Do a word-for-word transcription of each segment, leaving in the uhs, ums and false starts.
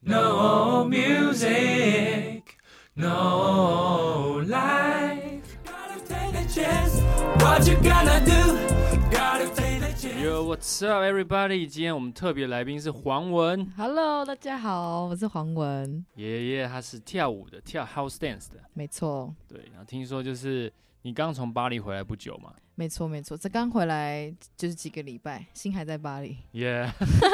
No music, no life. Gotta take the chance. What you gonna do? Gotta take the chance. Yo, what's up, everybody？ 今天我们特别来宾是黄文。 Hello， 大家好，我是黄文。 爷爷他是跳舞的，跳 house dance 的。 没错。 对，然后听说就是你刚从巴黎回来不久嘛？ 没错，没错，这刚回来就是几个礼拜，心还在巴黎。 耶、yeah ，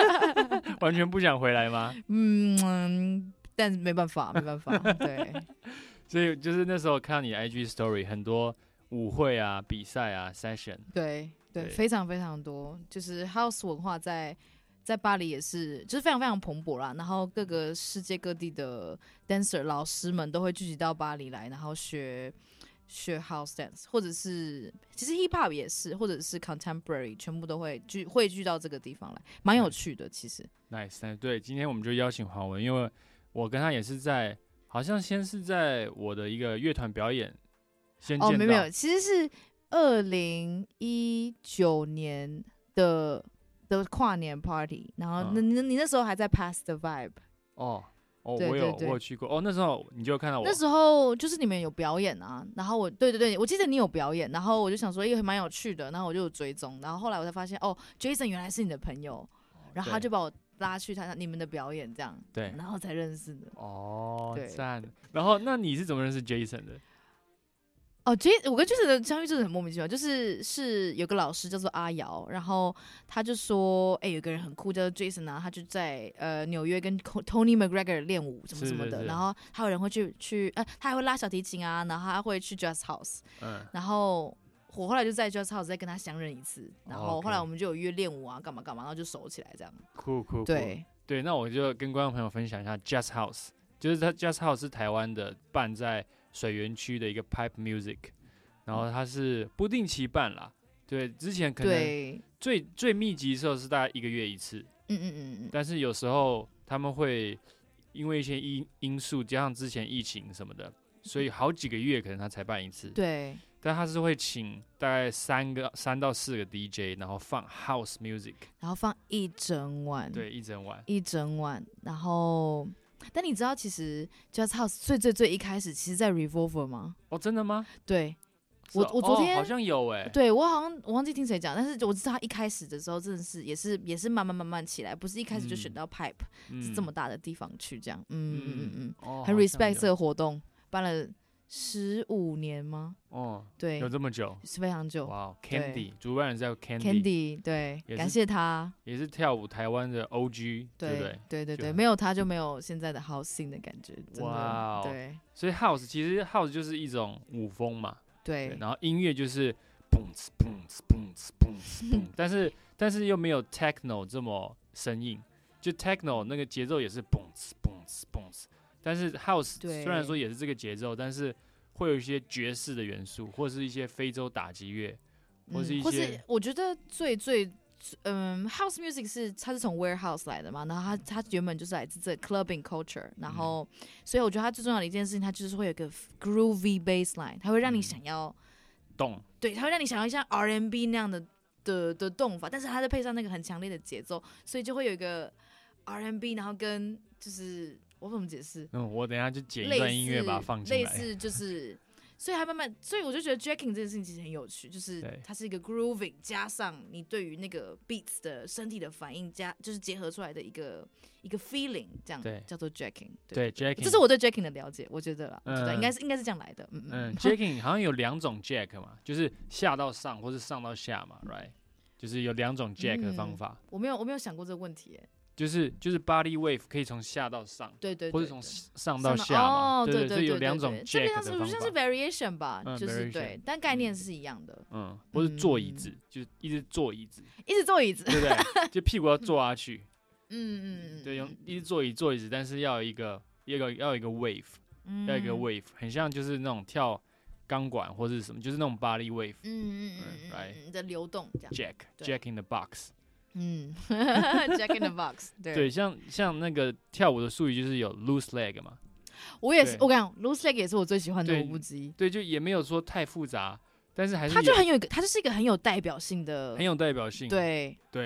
完全不想回来吗？ 嗯，但没办法，没办法，对。 所以就是那时候看到你的 I G story， 很多舞会啊、比赛啊、session。 对 对, 对， 非常非常多，就是 house 文化在在巴黎也是，就是非常非常蓬勃啦。然后各个世界各地的 dancer 老师们都会聚集到巴黎来，然后学。学 house dance， 或者是其实 hip hop 也是，或者是 contemporary， 全部都会聚汇聚到这个地方来，蛮有趣的。其实 nice， nice， 对，今天我们就邀请黄文，因为我跟他也是在，好像先是在我的一个乐团表演先见到。 哦，没有没有，其实是二零一九年的的跨年 party， 然后、嗯、你你那时候还在 Pass the Vibe。 哦。哦， 对对对， 我有我有去过哦。那时候你就看到我， 那时候就是你们有表演啊，然后我对对对，我记得你有表演，然后我就想说，也蛮有趣的，然后我就有追踪，然后后来我才发现，哦 ，Jason 原来是你的朋友，然后他就把我拉去他你们的表演，这样， 对， 然后才认识的。 哦，赞。然后那你是怎么认识 Jason 的？ 哦 ，J， 我跟 Jason 的相遇真的很莫名其妙，就是是有个老师叫做阿瑶，然后他就说，哎、欸，有个人很酷叫做 Jason 啊，他就在呃纽约跟 Tony McGregor 练舞什么什么的， 是是是，然后还有人会去去，呃，他还会拉小提琴啊，然后他会去 Jazz House，嗯，然后我后来就在 Jazz House 再跟他相认一次，然后后来我们就有约练舞啊，干嘛干嘛，然后就熟起来这样。 酷酷酷， 对对，那我就跟观众朋友分享一下 Jazz House， 就是他 Jazz House 是台湾的办在水源区的一个 Pipe Music。然后它是不定期办啦，对，之前可能最最密集的时候是大概一个月一次， 嗯嗯嗯嗯， 但是有时候他们会因为一些因因素，加上之前疫情什么的，所以好几个月可能他才办一次， 对， 但他是会请大概三个三到四个 D J， 然后放 House Music， 然后放一整晚， 对，一整晚， 一整晚，然后。但你知道，其实 Jazz House 最最最一开始，其实在 Revolver 吗？ 哦，真的吗？ 对。我我昨天、 哦、好像有哎、 欸，对我好像我忘记听谁讲，但是我知道他一开始的时候真的是也是也是慢慢慢慢起来，不是一开始就选到 Pipe、嗯、是这么大的地方去这样，嗯嗯嗯嗯，哦、很 respect 这个活动，办了十五年吗？ 哦， 对， 有这么久， 是非常久。 哇 ，Candy 主办人叫 Candy，Candy， 对，感谢他， 也是跳舞台湾的 O G， 对对不对？ 对对对，没有他就没有现在的 House scene 的感觉，真的，哇、对。 所以 House 其实 House 就是一种舞风嘛。 对, 对，然后音乐就是嘣呲嘣呲嘣呲嘣呲嘣，但是但是又没有 techno 这么生硬，就 techno 那个节奏也是嘣呲嘣呲嘣呲，但是 house 虽然说也是这个节奏，但是会有一些爵士的元素，或是一些非洲打击乐，或是一些，嗯、 或是我觉得最最。嗯 ，house music 是它是从 warehouse 来的嘛，然后它它原本就是来自这 clubbing culture， 然后、嗯、所以我觉得它最重要的一件事情，它就是会有一个 groovy bassline， 它会让你想要动、嗯， 对，它会让你想要像 R and B 那样的的的动法，但是它再配上那个很强烈的节奏，所以就会有一个 R and B， 然后跟就是我怎么解释？ 嗯，我等一下就剪一段音乐把它放进来， 类似就是。所以他慢慢，所以我就觉得 jacking 这件事情其实很有趣，就是它是一个 grooving 加上你对于那个 beats 的身体的反应加，就是结合出来的一个一个 feeling， 这样叫做 jacking。 对 jacking， 这是我对 jacking 的了解，我觉得啦， 嗯、 我觉得应该是应该是这样来的。嗯嗯 ，jacking 好像有两种 jack 嘛，就是下到上或是上到下嘛 ，right？ 就是有两种 jack 的方法。 嗯、我没有我没有想过这个问题、欸， 就是就是 body wave 可以从下到上， 对 对, 对, 对， 或者从上到下嘛， 哦、 对对, 对, 对, 对， 所以有两种 jack 的方法。 这边像是 variation 吧， 嗯、 就是对，但概念是一样的。 嗯，或是坐椅子，嗯、就是一直坐椅子， 一直坐椅子， 对不对？就屁股要坐下去。 嗯嗯嗯， 对，用一直坐椅坐椅子，但是要有一个一个要有一个 wave，、嗯、要有一个 wave， 很像就是那种跳钢管或者什么，就是那种 body wave。 嗯嗯嗯嗯，right 的流动这样。 Jack Jack in the box。 嗯，Jack in the box 对。 对，像像那个跳舞的术语就是有 loose leg 嘛。 我也是，我跟你讲 ，loose leg 也是我最喜欢的舞步之一。 对，就也没有说太复杂，但是还是它就很有一个，它就是一个很有代表性的， 很有代表性。 对对，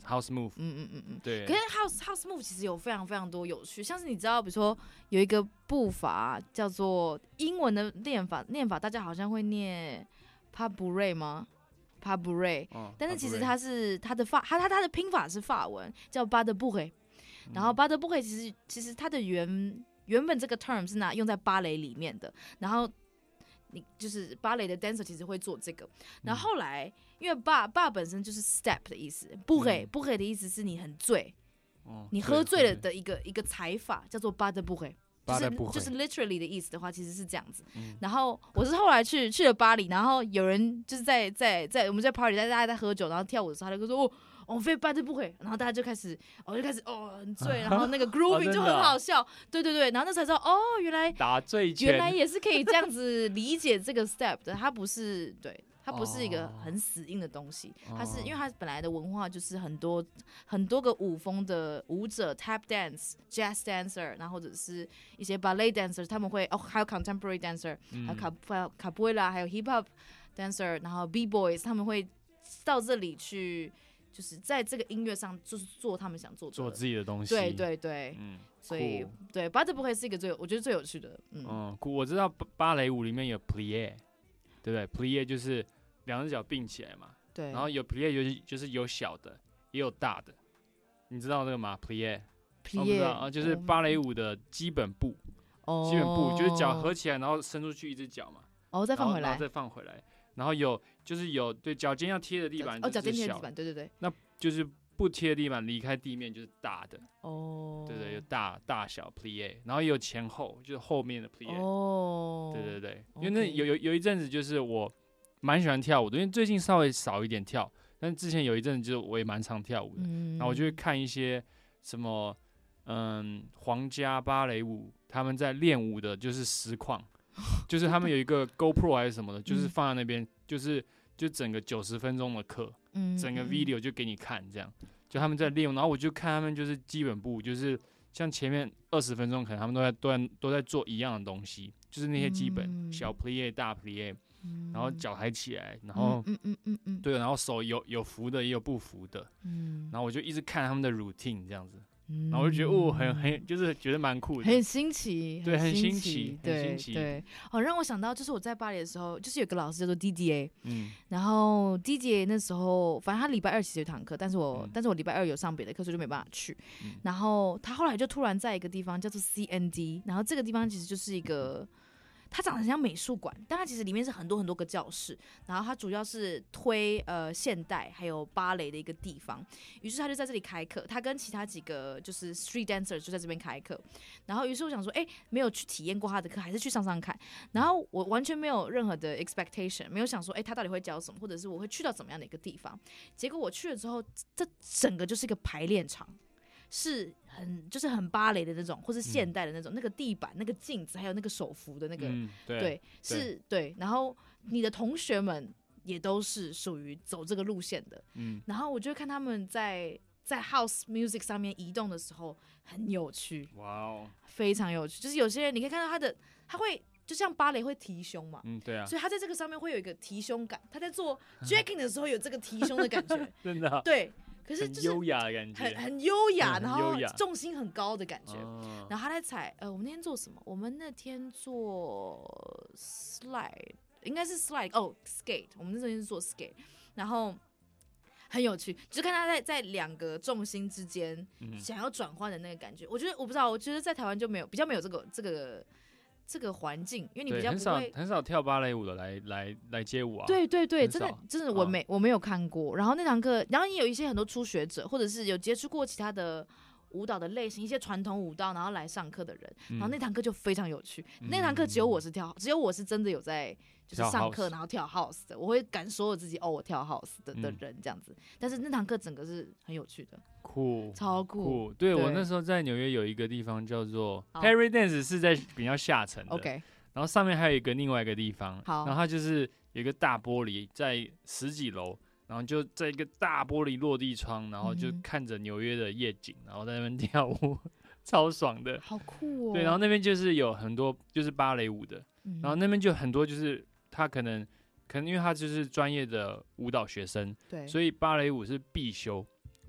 house move， 嗯嗯嗯嗯。 对。 可是 house house move 其实有非常非常多有趣，像是你知道，比如说有一个步伐叫做英文的念法，念法大家好像会念 pas bourré 吗？pas bourré，、哦、但是其实它是它的法，它它它的拼法是法文，叫 pas de bourré。然后 pas de bourré 其实其实它的原原本这个 term 是拿用在芭蕾里面的，然后你就是芭蕾的 dancer 其实会做这个，然后后来、嗯、因为 bar bar 本身就是 step 的意思 bourré、嗯、bourré 的意思是你很醉，哦、你喝醉了的一个一个踩法叫做 pas de bourré。就是就是 literally 的意思的话，其实是这样子。嗯、然后我是后来去去了巴黎，然后有人就是在在在我们在 party， 在大家在喝酒，然后跳舞的时候，他就说哦，我非pas de bourré，然后大家就开始，我、哦、就开始哦很醉，然后那个 grooving 就很好笑，哦、对对对，然后那才知道哦，原来打醉拳， 原来也是可以这样子理解这个 step 的，它不是对。它不是一个很死硬的东西，哦、它是因为它本来的文化就是很多很多个舞风的舞者 ，tap dance、jazz dancer， 然后或者是一些 ballet dancer， 他们会哦还有 contemporary dancer，、嗯、还有 capoeira， 还有 hip hop dancer， 然后 b boys， 他们会到这里去，就是在这个音乐上就是做他们想做的， 做自己的东西。 对对对，嗯，所以对 pas de bourré 是一个最我觉得最有趣的，嗯， 嗯，我知道芭蕾舞里面有 plié。对不对 ？plié 就是两只脚并起来嘛， 对。 然后有 plié 就是就是有小的，也有大的，你知道那个吗 ？plié，plié， 我不知道啊，就是芭蕾舞的基本步，哦、基本步就是脚合起来，然后伸出去一只脚嘛， 哦，再放回来， 然后再放回来，然后有就是有对脚尖要贴着地板， 哦，脚尖贴着地板，对对对， 那就是不贴地板离开地面就是大的，哦，对对，有大大小 plié， 然后也有前后，就是后面的 plié， 哦，对对对，因为那有有有一阵子就是我蛮喜欢跳舞的，因为最近稍微少一点跳，但是之前有一阵子就是我也蛮常跳舞的，嗯、然后我就会看一些什么嗯皇家芭蕾舞他们在练舞的，就是实况，就是他们有一个 GoPro 还是什么的，就是放在那边，就是就整个九十分钟的课。嗯、整个 video 就给你看，这样就他们在练，然后我就看他们就是基本步，就是像前面二十分钟可能他们都在都在都在做一样的东西，就是那些基本、嗯、小 plié 大 plié，、嗯、然后脚抬起来，然后嗯嗯嗯嗯对，然后手有有扶的也有不扶的，嗯，然后我就一直看他们的 routine 这样子。然后我就觉得哦，很很就是觉得蛮酷的， 很新奇， 对，很新奇， 对很新奇， 对。哦，让我想到就是我在巴黎的时候，就是有个老师叫做 D D A， 嗯，然后 D D A 那时候，反正他礼拜二其实有堂课，但是我、嗯、但是我礼拜二有上别的课，所以就没办法去。嗯、然后他后来就突然在一个地方叫做 C N D， 然后这个地方其实就是一个。它长得很像美术馆，但它其实里面是很多很多个教室，然后它主要是推呃现代还有芭蕾的一个地方。于是他就在这里开课，他跟其他几个就是 street dancer 就在这边开课。然后于是我想说，哎、欸，没有去体验过他的课，还是去上上看。然后我完全没有任何的 expectation， 没有想说，哎、欸，他到底会教什么，或者是我会去到怎么样的一个地方。结果我去了之后，这整个就是一个排练场。是很就是很芭蕾的那种，或是现代的那种，嗯、那个地板、那个镜子，还有那个手扶的那个， 嗯、对, 对，是，对。然后你的同学们也都是属于走这个路线的，嗯。然后我就看他们在在 house music 上面移动的时候，很有趣，哇哦，非常有趣。就是有些人你可以看到他的，他会就像芭蕾会提胸嘛， 嗯，对啊， 所以他在这个上面会有一个提胸感，他在做 jacking 的时候有这个提胸的感觉， 真的、啊， 对。可是就是很优雅的感觉， 很很优雅， 嗯、 然后重心很高的感觉。 哦、 然后他在踩，呃，我们那天做什么？我们那天做 slide， 应该是 slide 哦 skate， 我们那天是做 skate， 然后很有趣，就看他在在两个重心之间想要转换的那个感觉。嗯、我觉得我不知道，我觉得在台湾就没有比较没有这个这个。这个环境，因为你比较不会很少很少跳芭蕾舞的来来来街舞啊。 对对对，真的真的我没、哦、我没有看过。然后那堂课，然后也有一些很多初学者，或者是有接触过其他的舞蹈的类型，一些传统舞蹈，然后来上课的人。嗯、然后那堂课就非常有趣。嗯、那堂课只有我是跳，只有我是真的有在就是上课，然后跳 house 的。我会感受我自己哦，我跳 house 的的人这样子。嗯、但是那堂课整个是很有趣的。 酷， 超酷！ 酷对, 对我那时候在纽约有一个地方叫做 Perry Dance， 是在比较下层的。 OK， 然后上面还有一个另外一个地方， 好， 然后它就是有一个大玻璃，在十几楼，然后就在一个大玻璃落地窗，然后就看着纽约的夜景，然后在那边跳舞，超爽的， 好酷哦！ 对，然后那边就是有很多就是芭蕾舞的，嗯、然后那边就很多就是他可能可能因为他就是专业的舞蹈学生， 对， 所以芭蕾舞是必修。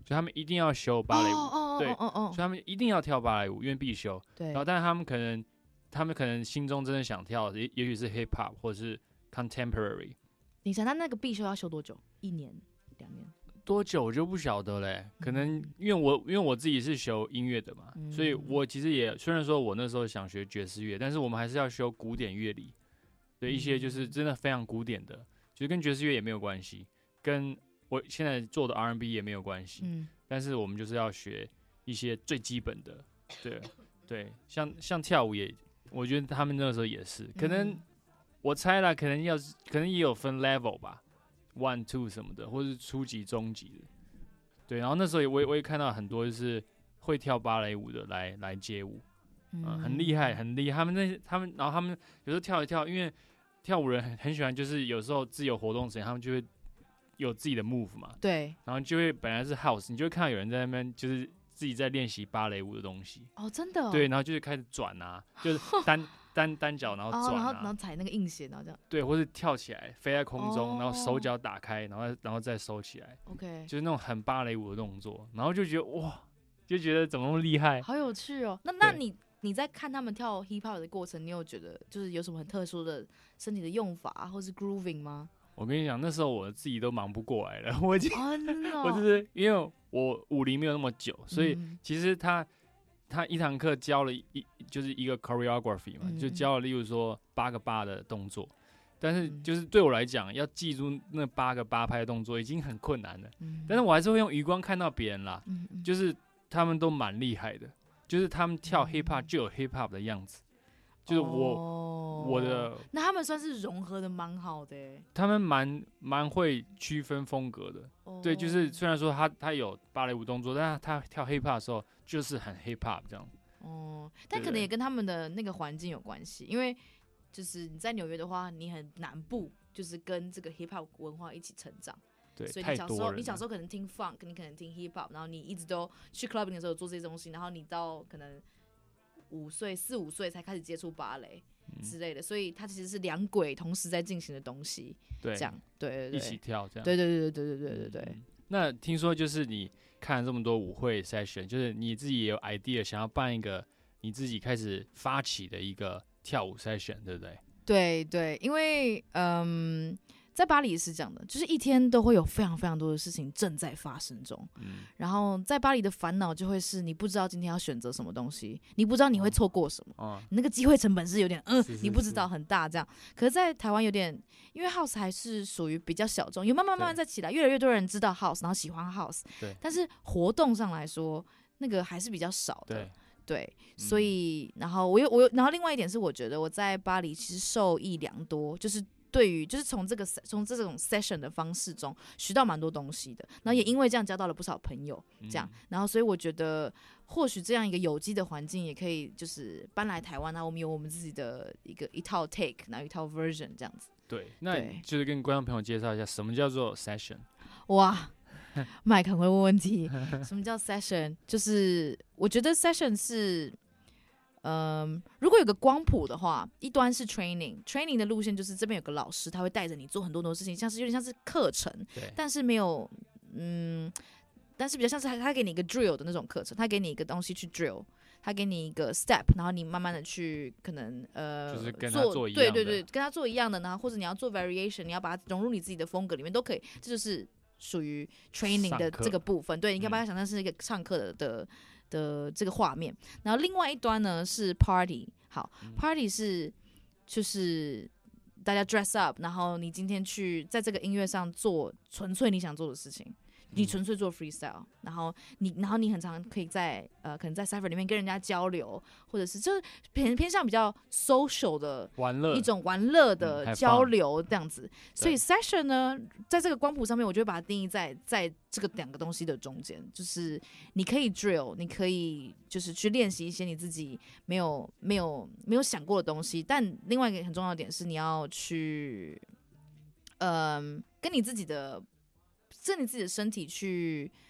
所以他们一定要修芭蕾舞， 哦对， 哦哦哦所以他们一定要跳芭蕾舞，因为必修。 对， 然后，但是他们可能，他们可能心中真的想跳，也也许是 hip hop 或者是 contemporary。 你想他那个必修要修多久？一年、两年？ 多久我就不晓得嘞，可能因为我因为我自己是学音乐的嘛， 嗯、 所以我其实也虽然说我那时候想学爵士乐，但是我们还是要修古典乐理，对一些就是真的非常古典的，就是跟爵士乐也没有关系，跟我现在做的 R and B 也没有关系， 嗯， 但是我们就是要学一些最基本的，对对，像像跳舞也，我觉得他们那个时候也是，可能、 嗯、 我猜啦，可能要可能也有分 level 吧。One two 什么的，或是初级、中级的，对。然后那时候也我也我也看到很多就是会跳芭蕾舞的来来街舞，嗯、呃，很厉害，很厉害。他们那他们，然后他们有时候跳一跳，因为跳舞人很很喜欢，就是有时候自由活动时间，他们就会有自己的 move 嘛， 对。 然后就会本来是 house， 你就会看到有人在那边就是自己在练习芭蕾舞的东西。 哦，真的、哦。 对，然后就会开始转啊，就是单。单单脚，然后转、啊哦，然后然后踩那个硬鞋，然后这样。 对，或是跳起来，飞在空中， 哦、 然后手脚打开，然后然后再收起来。 OK， 就是那种很芭蕾舞的动作，然后就觉得哇，就觉得怎么那么厉害， 好有趣哦。那那你你在看他们跳 hip hop 的过程，你有觉得就是有什么很特殊的身体的用法，或是 grooving 吗？ 我跟你讲，那时候我自己都忙不过来了，我已经， 哦真的哦、 我就是因为我舞龄没有那么久，所以其实他。他一堂课教了一就是一个 choreography 嘛，嗯、就教了例如说八个八的动作，但是就是对我来讲，要记住那八个八拍的动作已经很困难了。嗯、但是我还是会用余光看到别人啦，嗯、就是他们都蛮厉害的，就是他们跳 hip hop 就有 hip hop 的样子，就是我、哦、我的。 那他们算是融合的蛮好的耶， 他们蛮蛮会区分风格的。哦、对，就是虽然说他他有芭蕾舞动作，但是他跳 hip hop 的时候。就是很 hip hop 这样， 哦，但可能也跟他们的那个环境有关系，因为就是你在纽约的话，你很南部，就是跟这个 hip hop 文化一起成长， 对， 所以你小时候你小时候可能听 funk， 你可能听 hip hop， 然后你一直都去 clubbing 的时候做这些东西，然后你到可能五岁四五岁才开始接触芭蕾之类的，嗯、所以它其实是两轨同时在进行的东西， 对， 这样，对对对， 一起跳这样， 对对对对对对对对对。嗯、 那听说就是你。看了这么多舞会 session， 就是你自己也有 idea 想要办一个你自己开始发起的一个跳舞 session， 对不对？ 对对，因为嗯，在巴黎是这样的，就是一天都会有非常非常多的事情正在发生中。嗯，然后在巴黎的烦恼就会是你不知道今天要选择什么东西，你不知道你会错过什么，哦、你那个机会成本是有点嗯、呃，你不知道很大这样。可是，在台湾有点，因为 house 还是属于比较小众，有慢慢慢慢在起来，越来越多人知道 house， 然后喜欢 house。 对， 但是活动上来说，那个还是比较少的。 对。 对，所以，然后我有我有，然后另外一点是，我觉得我在巴黎其实受益良多，就是对于就是从这个从这种 session 的方式中学到蛮多东西的，然后也因为这样交到了不少朋友，这样，然后所以我觉得或许这样一个有机的环境也可以就是搬来台湾，然后我们有我们自己的一个一套 take， 然后一套 version 这样子。 对，那就是跟观众朋友介绍一下什么叫做 session。 哇。麦肯会问问题，什么叫 session？ 就是我觉得 session 是，嗯，如果有个光谱的话，一端是 training，training 的路线就是这边有个老师，他会带着你做很多很多事情，像是有点像是课程，但是没有，嗯，但是比较像是他他给你一个 drill 的那种课程，他给你一个东西去 drill。他给你一个 step， 然后你慢慢的去可能呃， 就是跟他做一样的， 对对对，跟他做一样的，然后或者你要做 variation， 你要把它融入你自己的风格里面都可以，这就是属于 training 的这个部分。对，你可以把它想象是一个上课的的的这个画面。然后另外一端呢是 party， 好、嗯、，party 是就是大家 dress up， 然后你今天去在这个音乐上做纯粹你想做的事情。你纯粹做 freestyle， 然后你，然后你很常可以在呃，可能在 cipher 里面跟人家交流，或者是就是偏偏向比较 social 的玩乐一种玩乐的交流这样子。嗯、所以 session 呢，在这个光谱上面，我就会把它定义在在这个两个东西的中间，就是你可以 drill， 你可以就是去练习一些你自己没有没有没有想过的东西，但另外一个很重要的点是你要去，嗯、呃，跟你自己的。跟你自己的身体去，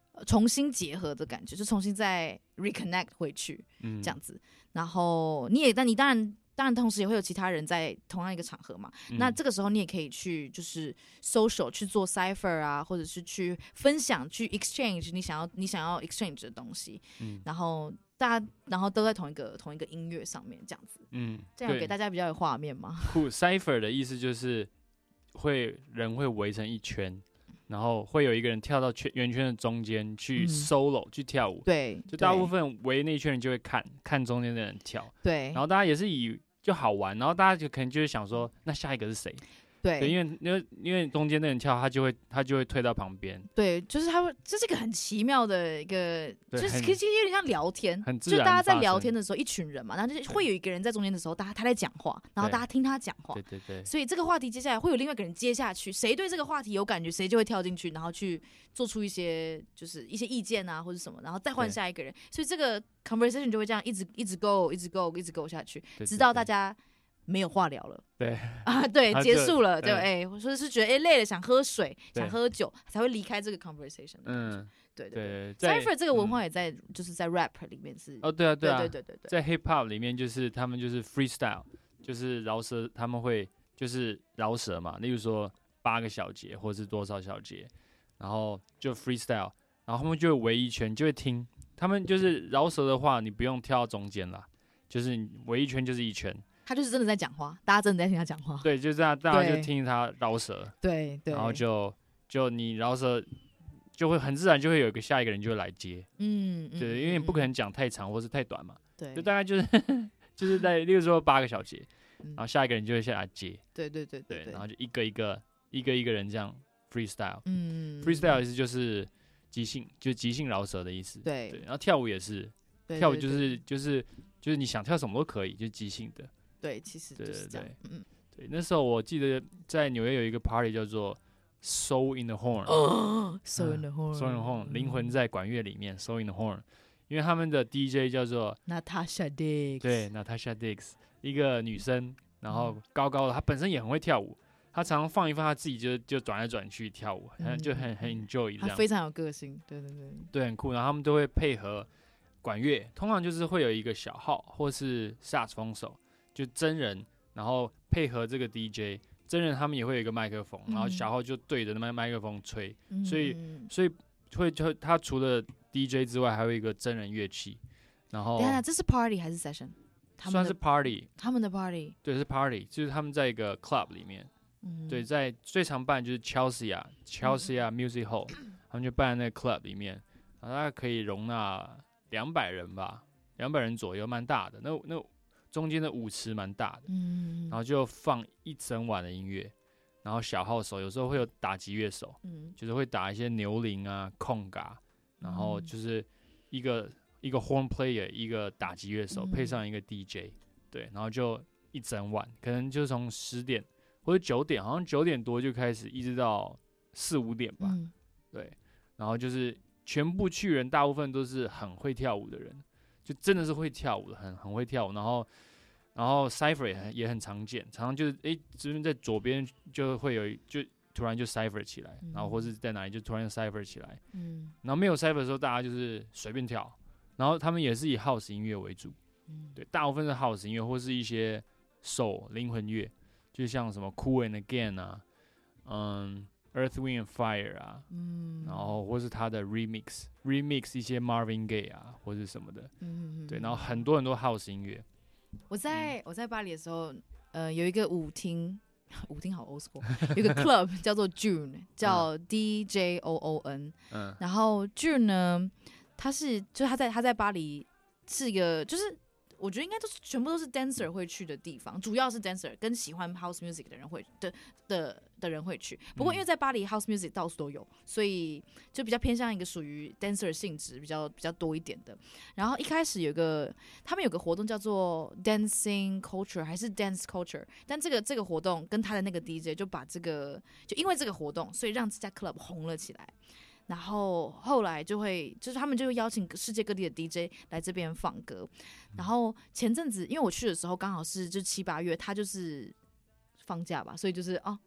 重新结合的感觉，就重新再 reconnect 回去， 嗯， 这样子。然后你也，但你当然。当然，同时也会有其他人在同样一个场合嘛。 嗯、 那这个时候你也可以去就是 social 去做 cipher 啊，或者是去分享、去 exchange 你想要你想要 exchange 的东西。嗯，然后大家然后都在同一个同一个音乐上面这样子。嗯，这样给大家比较有画面吗？ 酷 cipher 的意思就是会人会围成一圈。然后会有一个人跳到圈圆圈的中间去 solo、嗯、去跳舞， 对， 就大部分围那一圈人就会看看中间的人跳， 对， 然后大家也是以就好玩，然后大家就可能就会想说，那下一个是谁？ 对， 对，因为因为因为中间那人跳，他就会他就会退到旁边。 对，就是他会，这是一个很奇妙的一个，就是其实有点像聊天， 很自然， 就大家在聊天的时候，一群人嘛，然后就会有一个人在中间的时候，大家他在讲话，然后大家听他讲话。 对对对。 所以这个话题接下来会有另外一个人接下去，谁对这个话题有感觉，谁就会跳进去，然后去做出一些就是一些意见啊或者什么，然后再换下一个人。所以这个 conversation 就会这样一直一直 go 一直 go 一直 go 下去，直到大家没有话聊了， 对啊，对，结束了，就哎，或者是觉得哎累了，想喝水，想喝酒，才会离开这个 conversation。嗯，对对对 ，cipher 这个文化也在，就是在 rap 里面是。 哦，对啊，对啊， 对对对对， 在 hip hop 里面就是他们就是 freestyle， 就是饶舌，他们会就是饶舌嘛，例如说八个小节或是多少小节，然后就 freestyle， 然后他们就会围一圈，就会听。他们就是饶舌的话，你不用跳到中间啦，就是你围一圈就是一圈。 他就是真的在讲话，大家真的在听他讲话。 对，就这样，大家就听他饶舌。 对对。 然后就就你饶舌，就会很自然就会有一个下一个人就会来接。嗯。对，因为你不可能讲太长或是太短嘛。 对。 就大概就是就是在，例如说八个小节，然后下一个人就会下来接。 对对对对。 对，然后就一个一个一个一个人这样 freestyle。嗯。freestyle 意思就是即兴，就是即兴饶舌的意思。 对。 对，然后跳舞也是，跳舞就是就是就是你想跳什么都可以，就是即兴的。 对，其实就是这样。 对对对，嗯，对，那时候我记得在纽约有一个 party 叫做 Soul in the Horn， 哦 ，Soul in the Horn，Soul in the Horn， 灵魂在管乐里面 ，Soul in the Horn， 因为他们的 D J 叫做 Natasha Diggs， 对 ，Natasha Diggs， 一个女生，然后高高的，她本身也很会跳舞，她常常放一放，她自己就就转来转去跳舞，嗯、就很很 enjoy 这样， 她非常有个性，对对对， 对，很酷，然后他们都会配合管乐，通常就是会有一个小号或是萨克斯风手。就真人，然后配合这个 D J， 真人他们也会有一个麦克风，嗯、然后小号就对着那麦克风吹，嗯、所以所以会就他除了 D J 之外，还有一个真人乐器。然后， 等一下，这是 party 还是 session？ 算是 party， 他们的 party， 对，是 party， 就是他们在一个 club 里面，嗯、对，在最常办就是 Chelsea 啊 ，Chelsea 啊 Music Hall， 他们就办在那个 club 里面，然后大概可以容纳两百人吧，两百人左右，蛮大的。那那。中间的舞池蛮大的，嗯，然后就放一整晚的音乐，然后小号手有时候会有打击乐手，嗯，就是会打一些牛铃啊、空嘎，然后就是一个、嗯、一个 horn player， 一个打击乐手、嗯、配上一个 D J， 对，然后就一整晚，可能就从十点或者九点，好像九点多就开始，一直到四五点吧，嗯、对，然后就是全部去人大部分都是很会跳舞的人。就真的是会跳舞的，很很会跳舞，然后，然后 cipher 也很也很常见，常常就是哎，这边在左边就会有，就突然就 cipher 起来，嗯、然后或是在哪里就突然 cipher 起来，嗯，然后没有 cipher 的时候，大家就是随便跳，然后他们也是以 house 音乐为主，嗯，对，大部分是 house 音乐或是一些 soul 灵魂乐，就像什么 Cool and Again 啊，嗯。Earth, Wind and Fire 啊，嗯，然后或是他的 remix remix 一些 Marvin Gaye 啊，或是什么的，嗯，对，然后很多很多 house 音乐。 我在、嗯、我在巴黎的时候，呃，有一个舞厅，舞厅好 old school， 有一个 club 叫做 June， 叫 D J O O N， 嗯，然后 June 呢，他是就是他在他在巴黎是一个就是。我觉得应该都是全部都是 dancer 会去的地方，主要是 dancer 跟喜欢 house music 的人会的的的人会去。不过因为在巴黎 house music 到处都有，所以就比较偏向一个属于 dancer 性质比较比较多一点的。然后一开始有个他们有个活动叫做 dancing culture 还是 dance culture， 但这个这个活动跟他的那个 D J 就把这个就因为这个活动，所以让这家 club 红了起来。然后后来就会，就是他们就会邀请世界各地的 D J 来这边放歌。然后前阵子，因为我去的时候刚好是就七八月，他就是放假吧，所以就是哦，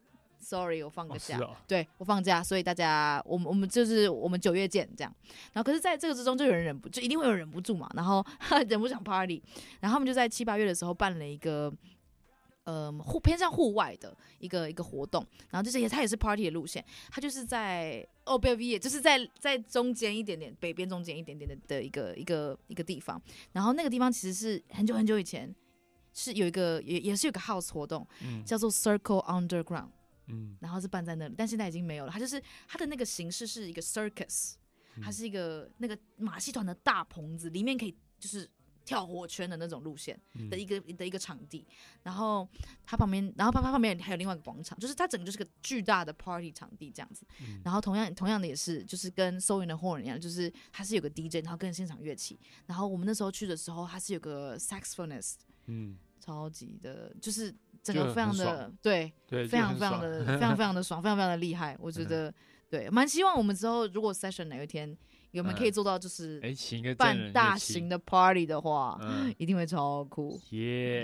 sorry 我放个假， 哦哦对我放假，所以大家我们我们就是我们九月见这样。然后可是在这个之中就有人忍不就一定会有人忍不住嘛，然后忍不住想 party， 然后他们就在七八月的时候办了一个呃户偏向户外的一个一个活动，然后就是也它也是 party 的路线，它就是在哦不也就是在在中间一点点北边中间一点点的的一个一个一个地方，然后那个地方其实是很久很久以前是有一个也也是有个 house 活动，嗯、叫做 Circle Underground， 嗯，然后是办在那里，但现在已经没有了。它就是它的那个形式是一个 circus， 它是一个那个马戏团的大棚子，里面可以就是跳火圈的那种路线的一个、嗯、的一个场地，然后它旁边，然后它旁边还有另外一个广场，就是它整个就是个巨大的 party 场地这样子。嗯、然后同样同样的也是，就是跟 Soul in the Horn 一样，就是它是有个 D J， 然后跟现场乐器。然后我们那时候去的时候，它是有个 saxophonist， 嗯，超级的，就是整个非常的对对，非常非常的非常非常的爽，非常非常的厉害。我觉得、嗯、对，蛮希望我们之后如果 session 哪一天。我们可以做到，就是办大型的 party 的话，嗯、一定会超酷。 耶、yeah, ！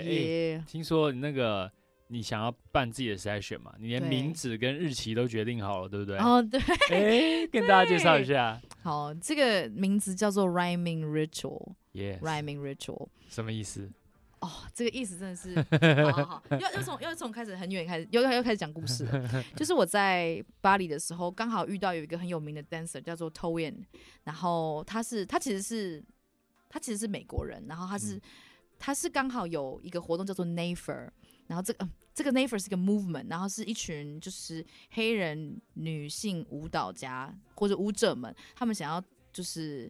欸、听说你那个你想要办自己的 session 嘛？你连名字跟日期都决定好了，对不对？ 哦，对。 哎、欸，跟大家介绍一下。 好，这个名字叫做 Rhyming Ritual。Yes。 Rhyming Ritual 什么意思？ 哦，这个意思真的是，好好好，要要从要从开始很远开始，又要开始讲故事了。就是我在巴黎的时候，刚好遇到有一个很有名的 dancer 叫做 Toyin， 然后他是他其实是他其实是美国人，然后他是、嗯、他是刚好有一个活动叫做 Nafer， 然后这个、呃、这个 Nafer 是一个 movement， 然后是一群就是黑人女性舞蹈家或者舞者们，他们想要就是。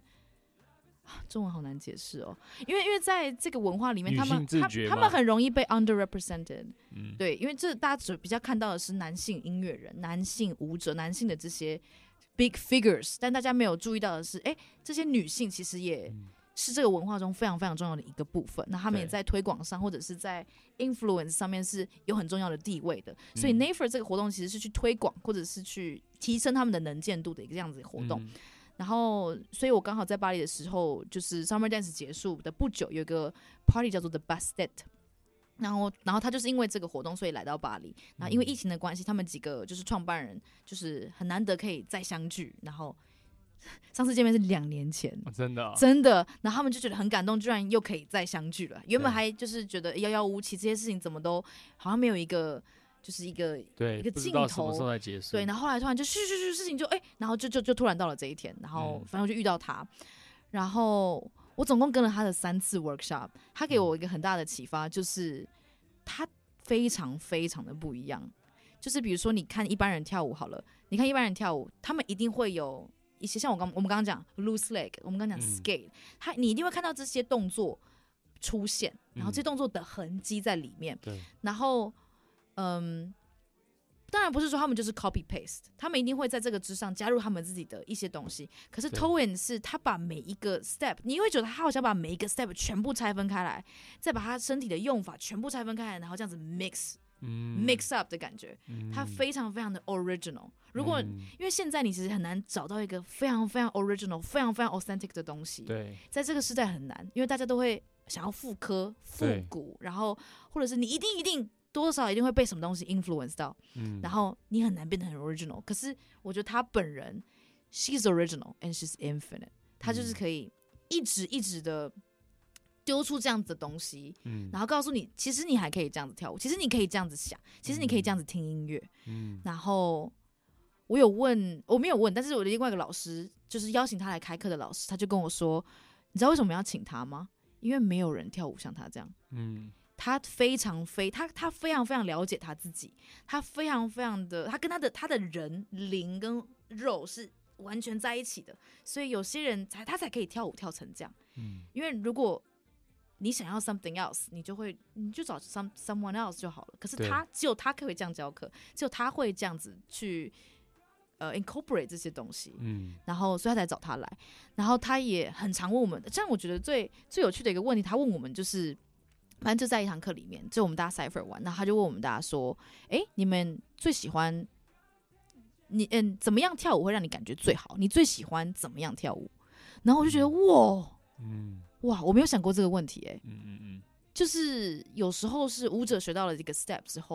中文好难解释哦，因为因为在这个文化里面，他们他他们很容易被 underrepresented，、嗯、对，因为这大家只比较看到的是男性音乐人、男性舞者、男性的这些 big figures， 但大家没有注意到的是，哎，这些女性其实也是这个文化中非常非常重要的一个部分。那他们也在推广上或者是在 influence 上面是有很重要的地位的。所以 Nafer 这个活动其实是去推广或者是去提升他们的能见度的一个这样子的活动。嗯，然后，所以我刚好在巴黎的时候，就是 Summer Dance 结束的不久，有一个 party 叫做 The Bastette， 然后，然后他就是因为这个活动，所以来到巴黎。然后因为疫情的关系，他们几个就是创办人，就是很难得可以再相聚。然后上次见面是两年前， 哦、真的、哦、 真的。然后他们就觉得很感动，居然又可以再相聚了。原本还就是觉得遥遥无期，这些事情怎么都好像没有一个。就是一个对一个镜头， 不知道什么时候才结束。 对，然后后来突然就咻咻咻，事情就哎、欸，然后就就就突然到了这一天，然后反正我就遇到他，嗯、然后我总共跟了他的三次 workshop， 他给我一个很大的启发，就是他非常非常的不一样。就是比如说，你看一般人跳舞好了，你看一般人跳舞，他们一定会有一些像我刚我们刚刚讲 loose leg， 我们刚刚讲 skate，、嗯、他你一定会看到这些动作出现，然后这些动作的痕迹在里面， 对、嗯， 然后。嗯，当然不是说他们就是 copy paste， 他们一定会在这个之上加入他们自己的一些东西。可是 Toyin 是他把每一个 step， 你会觉得他好像把每一个 step 全部拆分开来，再把他身体的用法全部拆分开来，然后这样子 mix、嗯、mix up 的感觉，嗯、他非常非常的 original。如果、嗯、因为现在你其实很难找到一个非常非常 original、非常非常 authentic 的东西， 对， 在这个时代很难，因为大家都会想要复刻、复古，然后或者是你一定一定。多少一定会被什么东西 influence 到、嗯，然后你很难变得很 original。可是我觉得他本人 ，she's original and she's infinite， 他就是可以一直一直的丢出这样子的东西、嗯，然后告诉你，其实你还可以这样子跳舞，其实你可以这样子想，其实你可以这样子听音乐。嗯，然后我有问，我没有问，但是我的另外一个老师，就是邀请他来开课的老师，他就跟我说，你知道为什么要请他吗？因为没有人跳舞像他这样。嗯。他非常非他他非常非常了解他自己，他非常非常的他跟他的他的人灵跟肉是完全在一起的，所以有些人才他才可以跳舞跳成这样。嗯，因为如果你想要 something else， 你就会你就找 some someone else 就好了。可是他只有他可以这样教课，只有他会这样子去呃 incorporate 这些东西。嗯，然后所以他才找他来，然后他也很常问我们。这样我觉得最最有趣的一个问题，他问我们就是。反正就在一堂课里面，就我们大家 cipher 玩，然后他就问我们大家说：“哎、欸，你们最喜欢你嗯怎么样跳舞会让你感觉最好？你最喜欢怎么样跳舞？”然后我就觉得哇，嗯，哇，我没有想过这个问题、欸，哎，嗯嗯嗯，就是有时候是舞者学到了这个 step 之后，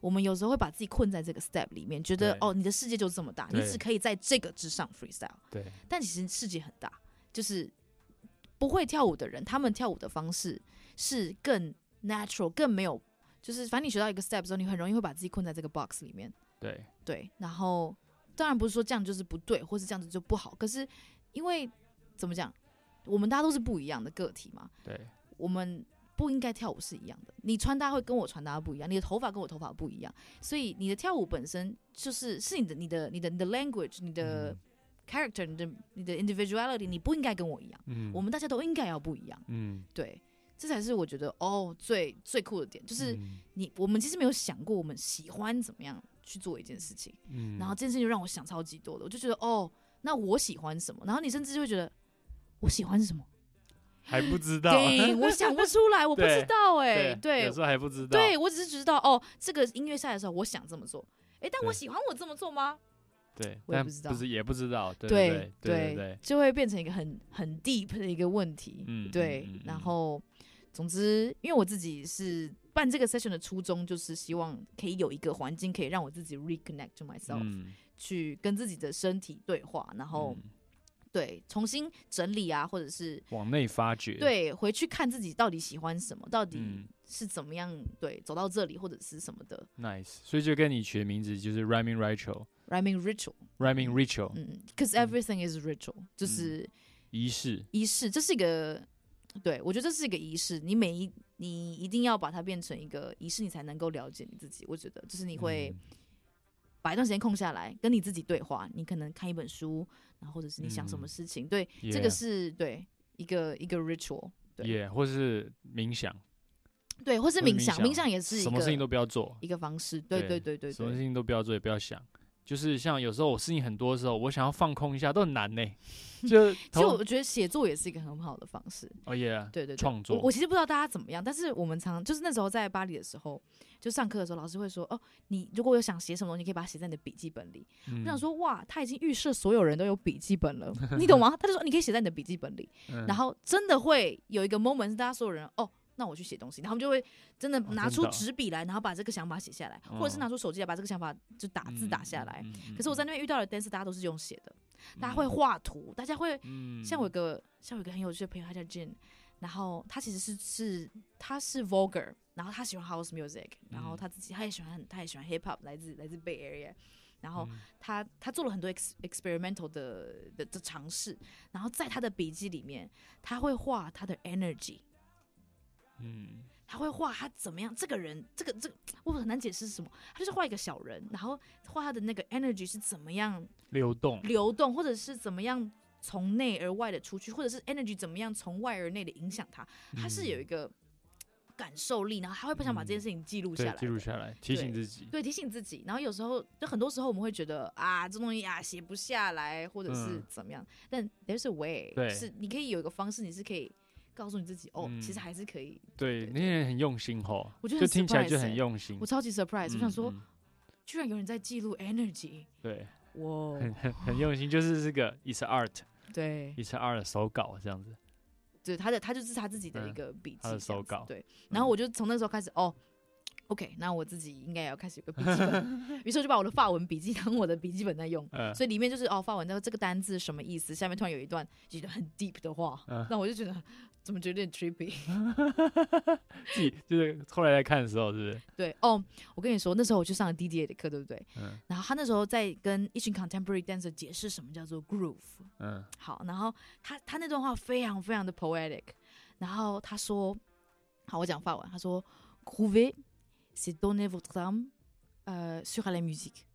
我们有时候会把自己困在这个 step 里面，觉得哦，你的世界就这么大，你只可以在这个之上 freestyle。 对， 但其实世界很大，就是不会跳舞的人，他们跳舞的方式是更 natural， 更没有，就是反正你学到一个 step 之后，你很容易会把自己困在这个 box 里面。 对对，然后当然不是说这样就是不对，或是这样子就不好，可是因为怎么讲，我们大家都是不一样的个体嘛。 对， 我们不应该跳舞是一样的，你穿搭会跟我穿搭不一样，你的头发跟我头发不一样，所以你的跳舞本身就是是你的你的你的你的 language， 你的 character， 你的你的 individuality， 你不应该跟我一样，嗯，我们大家都应该要不一样，嗯，对，这才是我觉得哦最最酷的点，就是你、嗯、我们其实没有想过我们喜欢怎么样去做一件事情，嗯，然后这件事情就让我想超级多的，我就觉得哦，那我喜欢什么，然后你甚至就会觉得我喜欢什么。 还不知道， 对，我想不出来，我不知道哎、欸，对， 有时候还不知道， 对我只是知道哦，这个音乐赛的时候我想这么做，哎、欸，但我喜欢我这么做吗？ 对， 我也不知道， 不是也不知道，对对对 对, 对, 对， 就会变成一个很很 deep 的一个问题，嗯，对，嗯嗯、然后总之，因为我自己是办这个 session 的初衷，就是希望可以有一个环境，可以让我自己 reconnect to myself，、嗯、去跟自己的身体对话，然后。嗯对，重新整理啊，或者是往内发掘。 对，回去看自己到底喜欢什么，到底是怎么样、嗯、对走到这里，或者是什么的。 Nice， 所以就跟你取的名字就是 Rhyming Ritual。Rhyming Ritual。Rhyming Ritual。 嗯 ，Because everything is ritual，、嗯、就是仪式。 仪式，这是一个，对我觉得这是一个仪式。你每一你一定要把它变成一个仪式，你才能够了解你自己。我觉得，就是你会。嗯把一段时间空下来，跟你自己对话。你可能看一本书，然后或者是你想什么事情，嗯、对， yeah, 这个是对一个一个 ritual， 对， 也、yeah, 或是冥想， 对，或是冥想，冥想也是一个什么事情都不要做一个方式，对对对 对, 对， 什么事情都不要做，也不要想。就是像有时候我事情很多的时候，我想要放空一下，都很难呢、欸。就其实我觉得写作也是一个很好的方式。 哦耶， 对对对， 创作我。 我其实不知道大家怎么样，但是我们常就是那时候在巴黎的时候，就上课的时候，老师会说：“哦，你如果有想写什么，你可以把它写在你的笔记本里。嗯”我想说，哇，他已经预设所有人都有笔记本了，你懂吗？他就说你可以写在你的笔记本里，嗯、然后真的会有一个 moment 是大家所有人哦。那我去写东西，然后他们就会真的拿出纸笔来，然后把这个想法写下来，哦、或者是拿出手机来把这个想法就打字打下来。嗯嗯嗯、可是我在那边遇到的 dancer， 大家都是用写的，嗯、大家会画图，大家会、嗯、像我有个像我有个很有趣的朋友，他叫 Jin， 然后他其实是是他是 Voguer， 然后他喜欢 house music， 然后他自己他也喜欢他也喜欢 hip hop， 来自来自 Bay Area。然后他、嗯、他做了很多 ex, experimental 的的的尝试，然后在他的笔记里面，他会画他的 energy。嗯，他会画他怎么样？这个人，这个这个，我很难解释是什么。他就是画一个小人，然后画他的那个 energy 是怎么样流动， 流动，或者是怎么样从内而外的出去，或者是 energy 怎么样从外而内的影响他。他是有一个感受力，然后他会不想把这件事情记录下来、嗯， 记录下来，提醒自己， 对，提醒自己。然后有时候，就很多时候我们会觉得啊，这东西啊写不下来，或者是怎么样。嗯、但 there's a way， 就是你可以有一个方式，你是可以。告诉你自己哦、嗯，其实还是可以。 对，那些人很用心吼， 我觉得就听起来就很用心。 我超级 surprise，、嗯、我想说、嗯，居然有人在记录 energy。 对， 哇， 很很很用心，就是这个 it's art， 对 ，it's art 手稿这样子。 对，他的他就是他自己的一个笔记、嗯， 他的手稿。 对，然后我就从那时候开始哦。OK， 那我自己应该也要开始有个笔记本，于是我就把我的法文笔记当我的笔记本在用，嗯、所以里面就是哦，法文这个单字什么意思？下面突然有一段觉得很 deep 的话，嗯、那我就觉得怎么觉得有点 trippy， 自己就是后来在看的时候，是不是？ 对哦，我跟你说，那时候我去上了 D D A 的课，对不对？嗯。然后他那时候在跟一群 contemporary dancer 解释什么叫做 groove， 嗯。好，然后他他那段话非常非常的 poetic， 然后他说，好，我讲法文，他说 groover。C'est donner votre âme euh, sur la musique.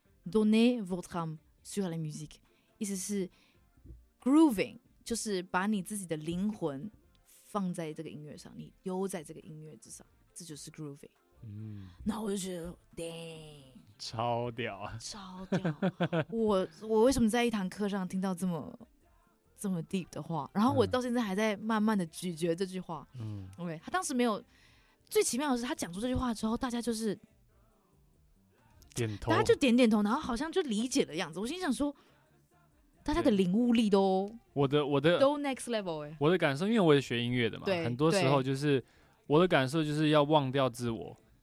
Donner votre âme sur la musique. 意思是 grooving 就是把你自己的灵魂放在这个音乐上，你丢在这个音乐之上，这就是 grooving。嗯，那我就觉得 ，damn， 超屌啊， 超屌！我我为什么在一堂课上听到这么这么 deep 的话？然后我到现在还在慢慢的咀嚼这句话。嗯 ，OK， 他当时没有。最奇妙的是，他讲出这句话之后，大家就是点头， 大家就点点头，然后好像就理解的样子。我心想说，大家的领悟力都我的我的都 next level 哎、欸。 我的感受，因为我是学音乐的嘛，很多时候就是我的感受就是要忘掉自我，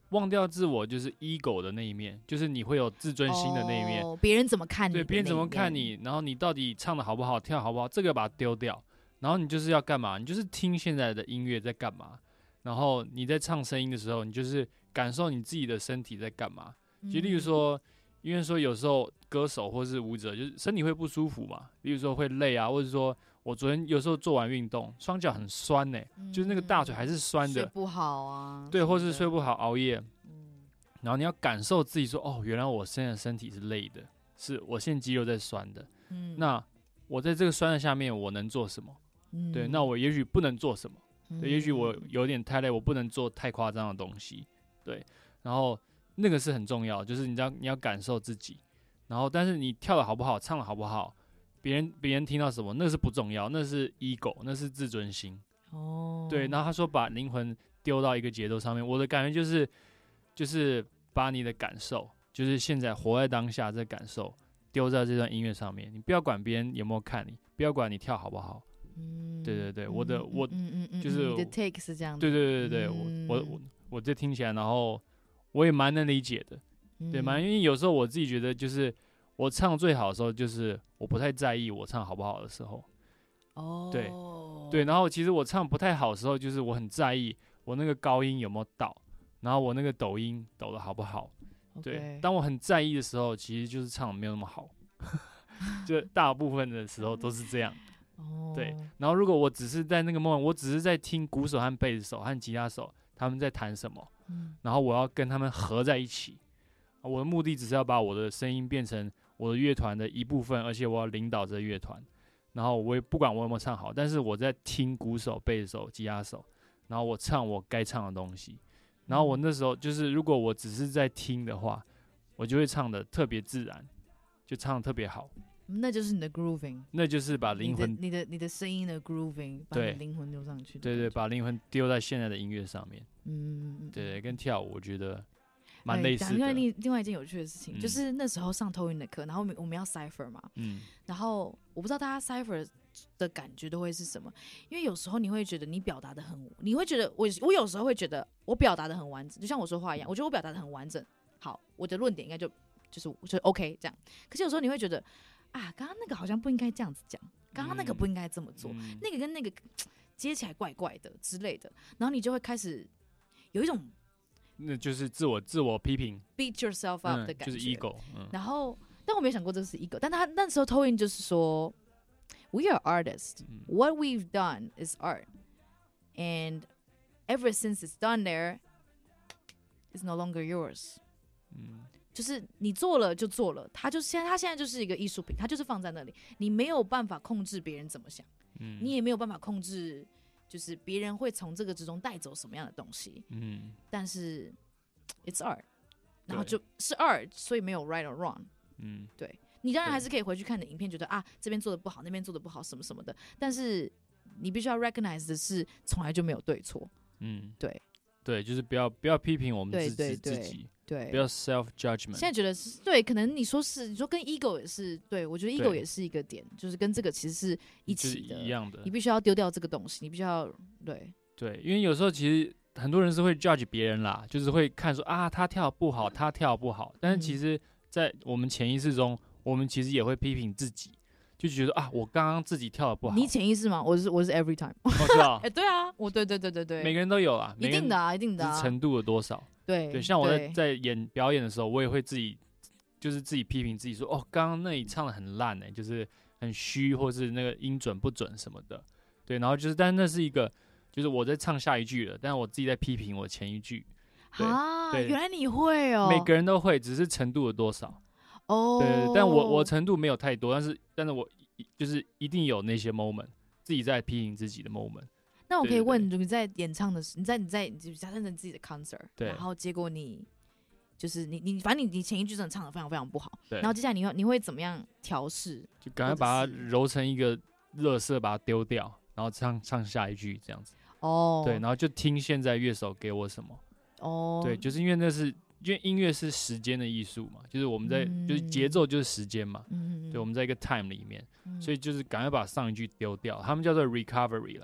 忘掉自我就是 ego 的那一面，就是你会有自尊心的那一面， 别、哦、人怎么看你， 对，别人怎么看你，然后你到底唱的好不好，跳好不好，这个把它丢掉，然后你就是要干嘛？你就是听现在的音乐在干嘛，然后你在唱声音的时候，你就是感受你自己的身体在干嘛。就例如说，因为说有时候歌手或是舞者就是身体会不舒服嘛，比如说会累啊，或者说我昨天有时候做完运动，双脚很酸呢、欸嗯，就是那个大腿还是酸的， 睡不好啊， 对，或是睡不好熬夜，嗯，然后你要感受自己说，哦，原来我现在身体是累的，是我现在肌肉在酸的，嗯，那我在这个酸的下面我能做什么？嗯，对，那我也许不能做什么，嗯、对，也许我有点太累，我不能做太夸张的东西，对，然后那个是很重要，就是你要你要感受自己，然后但是你跳的好不好，唱的好不好，别人别人听到什么，那是不重要，那是 ego， 那是自尊心。哦，对，然后他说把灵魂丢到一个节奏上面，我的感觉就是就是把你的感受，就是现在活在当下这感受丢在这段音乐上面，你不要管别人有没有看你，不要管你跳好不好。嗯，对对对，我的嗯我嗯嗯嗯就是你的 take 是这样子。 对对对对对， 嗯、 我我我我这听起来，然后我也蛮能理解的，嗯、对，蛮因为有时候我自己觉得就是我唱最好的时候，就是我不太在意我唱好不好的时候。哦，对对，然后其实我唱不太好的时候，就是我很在意我那个高音有没有到，然后我那个抖音抖的好不好。Okay. 对，当我很在意的时候，其实就是唱的没有那么好，就大部分的时候都是这样。哦，对，然后如果我只是在那个 moment， 我只是在听鼓手和贝斯手和吉他手他们在弹什么，嗯、然后我要跟他们合在一起，我的目的只是要把我的声音变成我的乐团的一部分，而且我要领导这个乐团。然后我也不管我有没有唱好，但是我在听鼓手、贝斯手、吉他手，然后我唱我该唱的东西。然后我那时候就是，如果我只是在听的话，我就会唱的特别自然，就唱的特别好。 那就是你的 grooving， 那就是把灵魂、 你的、你的、你的声音的 grooving， 把你的灵魂丢上去。 对对，把灵魂丢在现在的音乐上面。嗯，对对，跟跳舞我觉得蛮类似的。 因为另另外一件有趣的事情，嗯、就是那时候上投影的课，然后我们我们要 cipher 嘛，嗯，然后我不知道大家 cipher 的感觉都会是什么，因为有时候你会觉得你表达的很，你会觉得我我有时候会觉得我表达的很完整，就像我说话一样，我觉得我表达的很完整，好，我的论点应该就就是就 OK 这样。可是有时候你会觉得啊，刚刚那个好像不应该这样子讲，刚刚那个不应该这么做，嗯、那个跟那个接起来怪怪的之类的，然后你就会开始有一种。 那就是自我自我批评 ，beat yourself up 的感觉， 嗯、就是 ego、嗯。 然后，但我没有想过这是 ego， 但他那时候投影就是说 ，we are artists、嗯。What we've done is art, and ever since it's done there, it's no longer yours。嗯，就是你做了就做了，他就现在他现在就是一个艺术品，他就是放在那里，你没有办法控制别人怎么想，嗯、你也没有办法控制。就是别人会从这个之中带走什么样的东西，嗯，但是 it's art， 然后就是 art， 所以没有 right or wrong， 嗯，对，你当然还是可以回去看你的影片，觉得啊这边做的不好，那边做的不好，什么什么的，但是你必须要 recognize 的是，从来就没有对错，嗯，对， 对，就是不要不要批评我们自己自己。 对， 不要 self judgment。 现在觉得是对，可能你说是，你说跟 ego 也是对，我觉得 ego 也是一个点，就是跟这个其实是一起的， 就是、一样的。 你必须要丢掉这个东西，你必须要对对，因为有时候其实很多人是会 judge 别人啦，就是会看说啊他跳不好，他跳不好，但是其实，在我们潜意识中，我们其实也会批评自己。就觉得啊，我刚刚自己跳的不好。 你潜意识吗？我是我是 every time。 我知道。 哎，对啊，我对对对对对， 每个人都有啦， 一定的啊，一定的啊。 程度有多少？ 对对，像我在在演表演的时候，我也会自己就是自己批评自己说，哦，刚刚那里唱的很烂哎、欸，就是很虚，或是那个音准不准什么的。对，然后就是，但是那是一个，就是我在唱下一句了，但是我自己在批评我前一句。 啊，原来你会哦。 每个人都会，只是程度有多少。 哦。 对，但我我程度没有太多，但是但是我就是一定有那些 moment， 自己在批评自己的 moment。 那我可以问，你在演唱的时，你在你在假设你自己的 concert， 对， 然后结果你就是你你反正你你前一句真的唱的非常非常不好， 对， 然后接下来你会你会怎么样调试？ 就赶快把它揉成一个垃圾，把它丢掉，然后唱唱下一句这样子。哦，对，然后就听现在乐手给我什么。哦，对，就是因为那是因为音乐是时间的艺术嘛，就是我们在、嗯、就是节奏就是时间嘛，嗯，对，我们在一个 time 里面，嗯、所以就是赶快把上一句丢掉，他们叫做 recovery 了，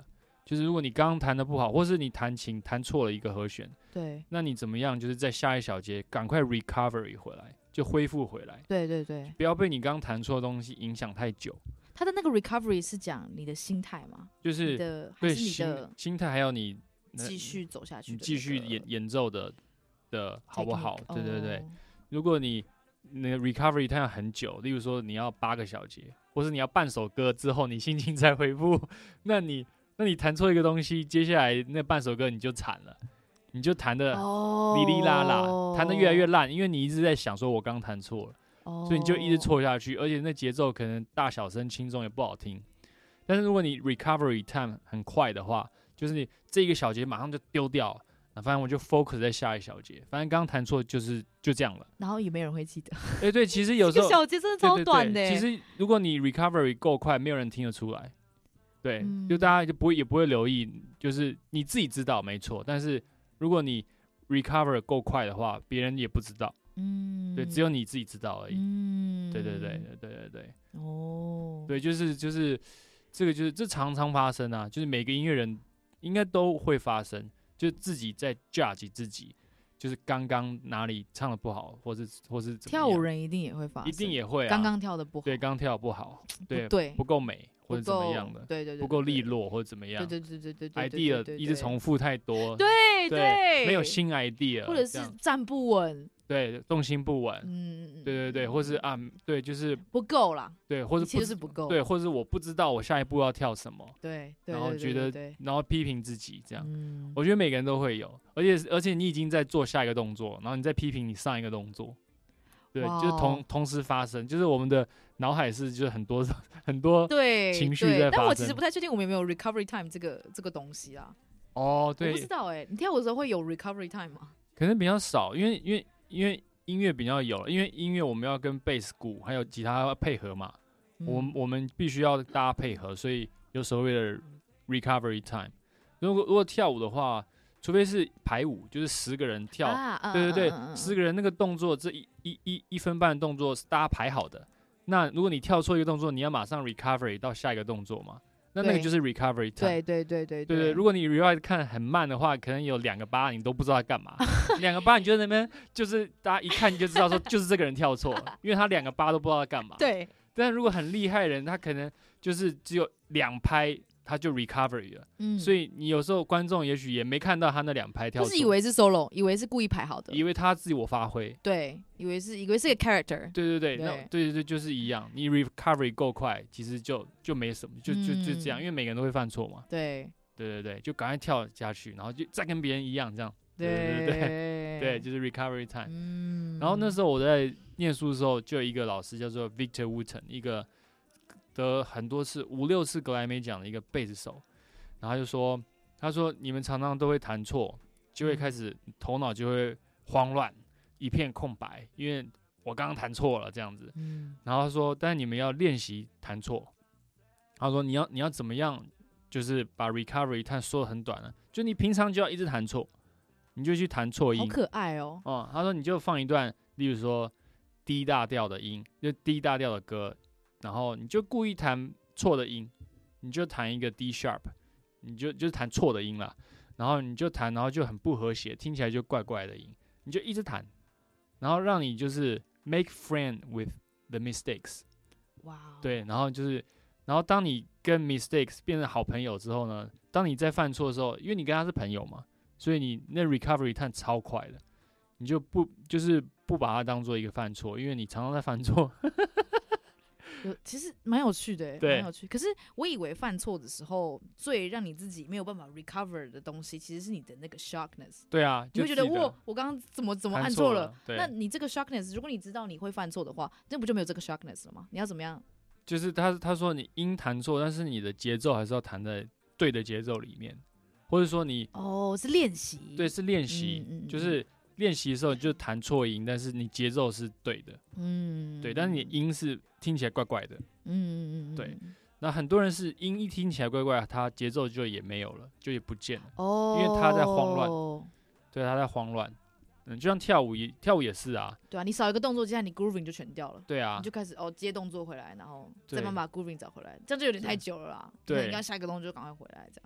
就是如果你刚刚弹的不好，或是你弹琴弹错了一个和弦， 对那你怎么样？就是在下一小节赶快 recovery 回来，就恢复回来， 对对对， 不要被你刚弹错的东西影响太久。 他的那个 recovery 是讲你的心态吗？ 就是你的还对是你的心心态，还有你继续走下去的那个， 你继续演演奏的的好不好？ technique， 对对对， 哦如果你那个 recovery 它要很久，例如说你要八个小节，或是你要半首歌之后你心情才恢复，那你那你弹错一个东西，接下来那半首歌你就惨了，你就弹的哦哩哩啦啦，弹的越来越烂，因为你一直在想说我刚弹错了， 哦所以你就一直错下去，而且那节奏可能大小声轻重也不好听。但是如果你 recovery time 很快的话，就是你这一个小节马上就丢掉，那反正我就 focus 在下一小节，反正刚刚弹错就是就这样了。 然后也没人会记得。 哎、对，其实有时这候个小节真的超短的、 对对对，其实如果你 recovery 够快，没有人听得出来。对， 嗯就大家就不会也不会留意，就是你自己知道没错，但是如果你 recover 够快的话，别人也不知道。 嗯， 对，只有你自己知道而已。 嗯， 对对对对对对对， 哦， 对，就是就是这个就是这常常发生啊，就是每个音乐人应该都会发生，就是自己在 judge 自己，就是刚刚哪里唱的不好，或是或是怎么样跳舞人一定也会发生， 一定也会啊， 刚刚跳的不好， 对，刚跳得不好，对对不够美或不者怎么够样的， 对对对， 不够利对， 落或者怎么样对对对对对对对对 ，idea 对一直重复太多， 对对对， 没有新 idea， 或者是这样站不稳， 对动心不稳， 嗯， 对对对，或是啊对就是不够啦， 对，或一切是不知就是不够， 对，或是我不知道我下一步要跳什么， 对，对然后对觉得对对然后批评自己这样。 嗯， 我觉得每个人都会有，而且而且你已经在做下一个动作，然后你在批评你上一个动作，对， 哇哦就是同同时发生，就是我们的脑海是就是很多很多对情绪对在发生但我其实不太确定我们有没有 recovery time 这个这个东西啦， 哦， 我不对知，道哎，你跳舞的时候会有 recovery time 吗？ 可能比较少，因为因为因为音乐比较有，因为音乐我们要跟贝斯鼓还有吉他配合嘛，我们嗯我们必须要大家配合，所以有所谓的 recovery time。如果如果跳舞的话，除非是排舞，就是十个人跳， 啊啊对对对， 嗯嗯嗯十个人那个动作，这一一一一分半的动作是大家排好的。那如果你跳错一个动作，你要马上 recovery 到下一个动作嘛？那那个对就是 recovery time。 对对对对对对，如果你 rewind 看很慢的话，可能有两个八你都不知道在干嘛，两个八你就在那边，就是大家一看你就知道说就是这个人跳错了，因为他两个八都不知道在干嘛。。 对但如果很厉害的人，他可能就是只有两拍他就 recovery 了， 嗯， 所以你有时候观众也许也没看到他那两拍跳错， 就是以为是 solo，以为是故意排好的， 以为他自我发挥。 对，以为是以为是个 character， 对对对， 对那对对对，就是一样。你 recovery 够快，其实就就没什么，就就就这样， 嗯因为每个人都会犯错嘛。 对对对对，就赶快跳下去，然后就再跟别人一样这样。对对对对对，就是 recovery time。 嗯， 然后那时候我在念书的时候，就有一个老师叫做 Victor Wooten，一个得很多次五六次格莱美奖的一个贝斯手。然后他就说，他说你们常常都会弹错，就会开始头脑就会慌乱，一片空白，因为我刚刚弹错了这样子。 嗯然后他说，但是你们要练习弹错。他说你要你要怎么样，就是把 recovery time 缩得很短了，就你平常就要一直弹错，你就去弹错音。 好可爱哦， 哦、他说你就放一段，例如说 D 大调的音，就 D 大调的歌，然后你就故意弹错的音，你就弹一个 D sharp， 你就就是弹错的音啦，然后你就弹，然后就很不和谐，听起来就怪怪的音，你就一直弹，然后让你就是 make friend with the mistakes， 哇哦， 对，然后就是，然后当你跟 mistakes 变成好朋友之后呢，当你在犯错的时候，因为你跟他是朋友嘛，所以你那 recovery time 超快的，你就不就是不把它当做一个犯错，因为你常常在犯错。 有其实蛮有趣的， 对蛮有趣。可是我以为犯错的时候，最让你自己没有办法 recover 的东西，其实是你的那个 shockness。 对啊， 你会觉得就记哇，我刚刚怎么怎么弹按错了？对， 那你这个 shockness，如果你知道你会犯错的话，那不就没有这个 shockness 了吗？你要怎么样？ 就是他他说你音弹错，但是你的节奏还是要弹在对的节奏里面，或者说你哦，是练习。 对是练习， 嗯嗯嗯就是练习的时候你就弹错音，但是你节奏是对的， 嗯， 对，但是你音是听起来怪怪的。 嗯嗯嗯， 对那很多人是音一听起来怪怪，他节奏就也没有了，就也不见了。 哦， 因为他在慌乱对，他在慌乱。嗯，就像跳舞也跳舞也是啊， 对啊，你少一个动作，接下来你 grooving 就全掉了。 对啊你就，开始哦接动作回来，然后再对慢慢把 grooving 找回来，这样就有点太久了啦。 对那应该下一个动作就赶快回来，这样。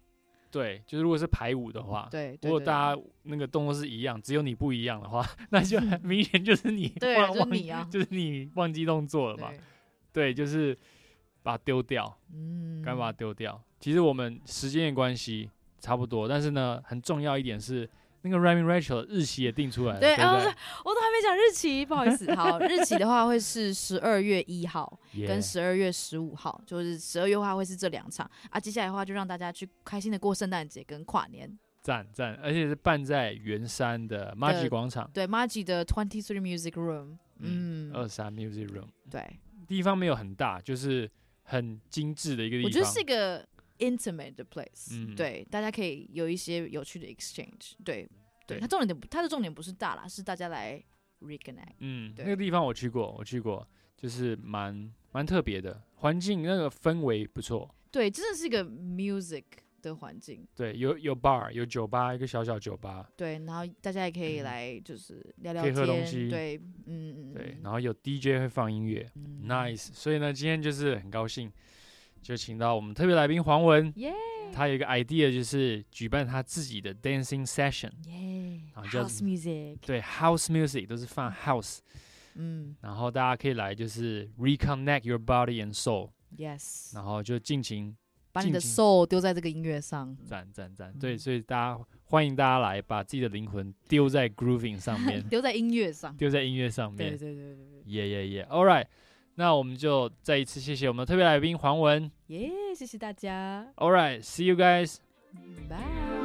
对，就是如果是排舞的话， 对，对如果对大家那个动作是一样，只有你不一样的话，那就很明显就是你对， 忘就是你啊， 就是你忘记动作了嘛。 对， 对，就是把它丢掉， 嗯， 赶快把它丢掉。其实我们时间的关系差不多，但是呢，很重要一点是那个 Remy Rachel 的日期也定出来了， 对， 对不对？ 哦，我都还没讲日期，不好意思。好，日期的话会是十二月一号跟 Yeah 十二月十五号，就是十二月的话会是这两场啊。接下来的话就让大家去开心的过圣诞节跟跨年。 赞赞，而且是办在圆山的 Maggi 广场， 对 Maggi 的 Twenty Three Music Room， 嗯， 嗯， 二三 Music Room， 对， 地方没有很大，就是很精致的一个地方。 我觉得是一个 intimate 的 place， 嗯对，大家可以有一些有趣的 exchange，对， 对对，它重点不，它的重点不是大啦，是大家来 reconnect， 嗯， 对那个地方我去过，我去过，就是蛮蛮特别的，环境那个氛围不错。 对，真的是一个 music 的环境。 对，有有 bar， 有酒吧，一个小小酒吧。 对，然后大家也可以来就是聊聊可以天， 喝东西对，嗯嗯， 对，然后有 D J 会放音乐、 嗯 n i c e 所以呢，今天就是很高兴，就请到我们特别来宾黄文， 耶他有一个 idea， 就是举办他自己的 dancing session， 耶然后叫 ，house music， 对 house music 都是放 house， 嗯然后大家可以来就是 reconnect your body and soul， ，yes， 然后就尽情把你的尽情 soul 丢在这个音乐上， 赞赞赞， 嗯对，所以大家欢迎大家来把自己的灵魂丢在 grooving 上面， 丢在音乐上， 丢在音乐上面， 对对对对对， 耶耶耶 ，All right，那我们就再一次谢谢我们的特别来宾黄文耶，谢谢大家， ，All right，see you guys。 拜。